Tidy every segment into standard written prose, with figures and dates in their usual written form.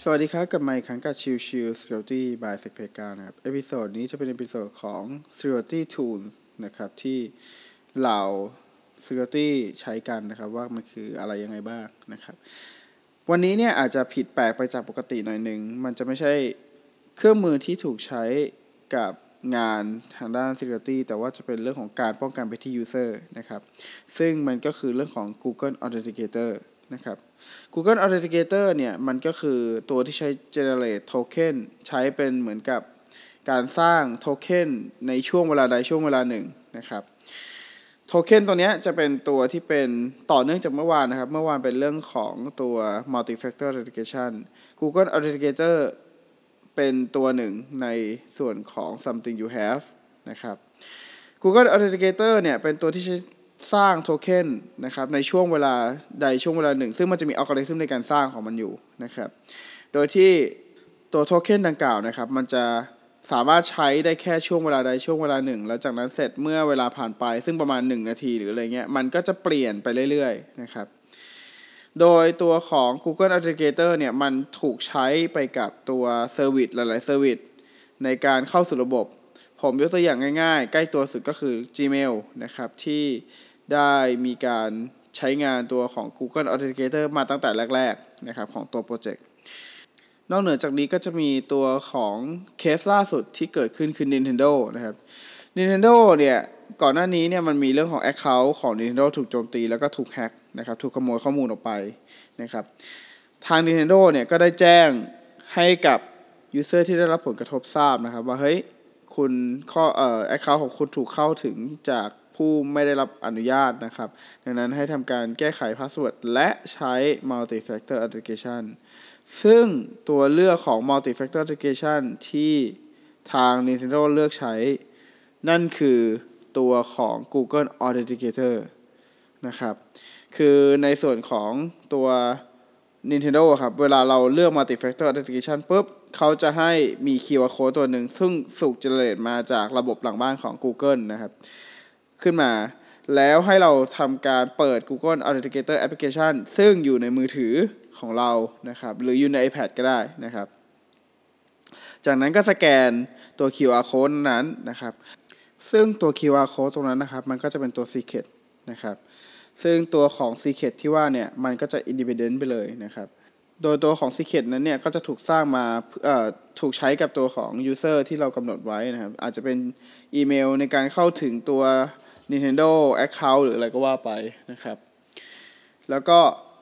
สวัสดีครับกับไมค์ครั้งกับชิว Security by Secpeka นะครับเอพิโซดนี้จะเป็นเอพิโซดของ Security Tool นะครับที่เหล่า Security ใช้กันนะครับว่ามันคืออะไรยังไงบ้างนะครับวันนี้เนี่ยอาจจะผิดแปลกไปจากปกติหน่อยนึงมันจะไม่ใช่เครื่องมือที่ถูกใช้กับงานทางด้าน Security แต่ว่าจะเป็นเรื่องของการป้องกันไปที่ User นะครับซึ่งมันก็คือเรื่องของ Google Authenticator นะครับ Google Authenticator เนี่ยมันก็คือตัวที่ใช้ generate token ใช้เป็นเหมือนกับการสร้างโทเค็นในช่วงเวลาใดช่วงเวลาหนึ่งนะครับโทเค็นตัวนี้จะเป็นตัวที่เป็นต่อเนื่องจากเมื่อวานนะครับเมื่อวานเป็นเรื่องของตัว multi-factor authentication Google Authenticator เป็นตัวหนึ่งในส่วนของ something you have นะครับ Google Authenticator เนี่ยเป็นตัวที่ใช้สร้างโทเค็นนะครับในช่วงเวลาใดช่วงเวลาหนึ่งซึ่งมันจะมีอัลกอริทึมในการสร้างของมันอยู่นะครับโดยที่ตัวโทเค็นดังกล่าวนะครับมันจะสามารถใช้ได้แค่ช่วงเวลาใดช่วงเวลาหนึ่งแล้วจากนั้นเสร็จเมื่อเวลาผ่านไปซึ่งประมาณ1นาทีหรืออะไรเงี้ยมันก็จะเปลี่ยนไปเรื่อยๆนะครับโดยตัวของ Google Authenticator เนี่ยมันถูกใช้ไปกับตัวเซอร์วิสหลายๆเซอร์วิสในการเข้าสู่ระบบผมยกตัวอย่างง่ายๆใกล้ตัวสุดก็คือ Gmail นะครับที่ได้มีการใช้งานตัวของ Google Authenticator มาตั้งแต่แรกๆนะครับของตัวโปรเจกต์นอกเหนือจากนี้ก็จะมีตัวของเคสล่าสุดที่เกิดขึ้นคือ Nintendo นะครับ Nintendo เนี่ยก่อนหน้านี้เนี่ยมันมีเรื่องของ Account ของ Nintendo ถูกโจมตีแล้วก็ถูกแฮกนะครับถูกขโมยข้อมูลออกไปนะครับทาง Nintendo เนี่ยก็ได้แจ้งให้กับ User ที่ได้รับผลกระทบทราบนะครับว่าเฮ้ยคุณaccount ของคุณถูกเข้าถึงจากผู้ไม่ได้รับอนุญาตนะครับดังนั้นให้ทำการแก้ไขพาสเวิร์ดและใช้ multi-factor authentication ซึ่งตัวเลือกของ multi-factor authentication ที่ทาง Nintendo เลือกใช้นั่นคือตัวของ Google Authenticator นะครับคือในส่วนของตัว Nintendo ครับเวลาเราเลือก multi-factor authentication ปุ๊บเขาจะให้มี QR code ตัวหนึ่งซึ่งถูก generate มาจากระบบหลังบ้านของ Google นะครับขึ้นมาแล้วให้เราทำการเปิด Google Authenticator Application ซึ่งอยู่ในมือถือของเรานะครับหรืออยู่ใน iPad ก็ได้นะครับจากนั้นก็สแกนตัว QR code นั้นนะครับซึ่งตัว QR code ตรงนั้นนะครับมันก็จะเป็นตัว secret นะครับซึ่งตัวของ secret ที่ว่าเนี่ยมันก็จะ independent ไปเลยนะครับโดยตัวของ secret นั้นเนี่ยก็จะถูกสร้างมาถูกใช้กับตัวของ user ที่เรากำหนดไว้นะครับอาจจะเป็นอีเมลในการเข้าถึงตัว Nintendo account หรืออะไรก็ว่าไปนะครับแล้วก็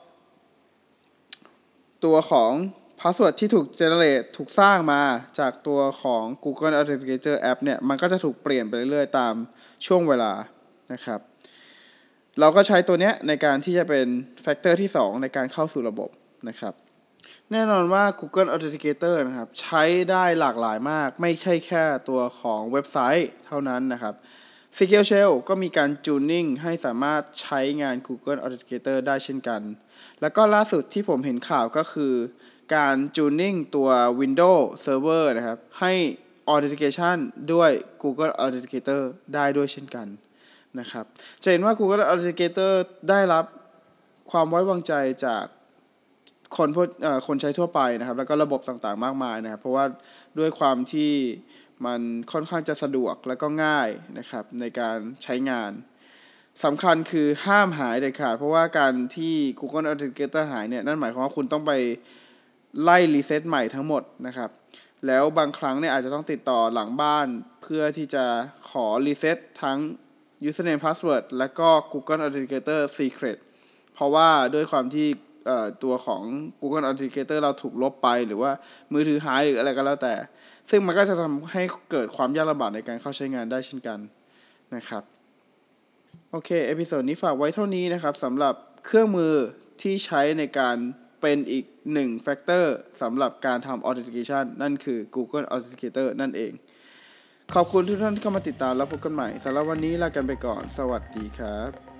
ตัวของ password ที่ถูก generate ถูกสร้างมาจากตัวของ Google Authenticator app เนี่ยมันก็จะถูกเปลี่ยนไปเรื่อยๆตามช่วงเวลานะครับเราก็ใช้ตัวเนี้ยในการที่จะเป็นแฟกเตอร์ที่2ในการเข้าสู่ระบบนะครับแน่นอนว่า Google Authenticator นะครับใช้ได้หลากหลายมากไม่ใช่แค่ตัวของเว็บไซต์เท่านั้นนะครับ Secure Shell ก็มีการจูนนิ่งให้สามารถใช้งาน Google Authenticator ได้เช่นกันแล้วก็ล่าสุดที่ผมเห็นข่าวก็คือการจูนนิ่งตัว Windows Server นะครับให้ Authentication ด้วย Google Authenticator ได้ด้วยเช่นกันนะครับจะเห็นว่า Google Authenticator ได้รับความไว้วางใจจากคนใช้ทั่วไปนะครับแล้วก็ระบบต่างๆมากมายนะครับเพราะว่าด้วยความที่มันค่อนข้างจะสะดวกและก็ง่ายนะครับในการใช้งานสำคัญคือห้ามหายเด็ดขาดเพราะว่าการที่ Google Authenticator หายเนี่ยนั่นหมายความว่าคุณต้องไปไล่รีเซ็ตใหม่ทั้งหมดนะครับแล้วบางครั้งเนี่ยอาจจะต้องติดต่อหลังบ้านเพื่อที่จะขอรีเซ็ตทั้ง username password และก็ Google Authenticator secret เพราะว่าด้วยความที่ตัวของ Google Authenticator เราถูกลบไปหรือว่ามือถือหายหรืออะไรก็แล้วแต่ซึ่งมันก็จะทำให้เกิดความยากลำบากในการเข้าใช้งานได้เช่นกันนะครับโอเคเอพิโซดนี้ฝากไว้เท่านี้นะครับสำหรับเครื่องมือที่ใช้ในการเป็นอีก1แฟกเตอร์สำหรับการทำ Authentication นั่นคือ Google Authenticator นั่นเองขอบคุณทุกท่านที่เข้ามาติดตามแล้วพบกันใหม่สำหรับวันนี้ลากันไปก่อนสวัสดีครับ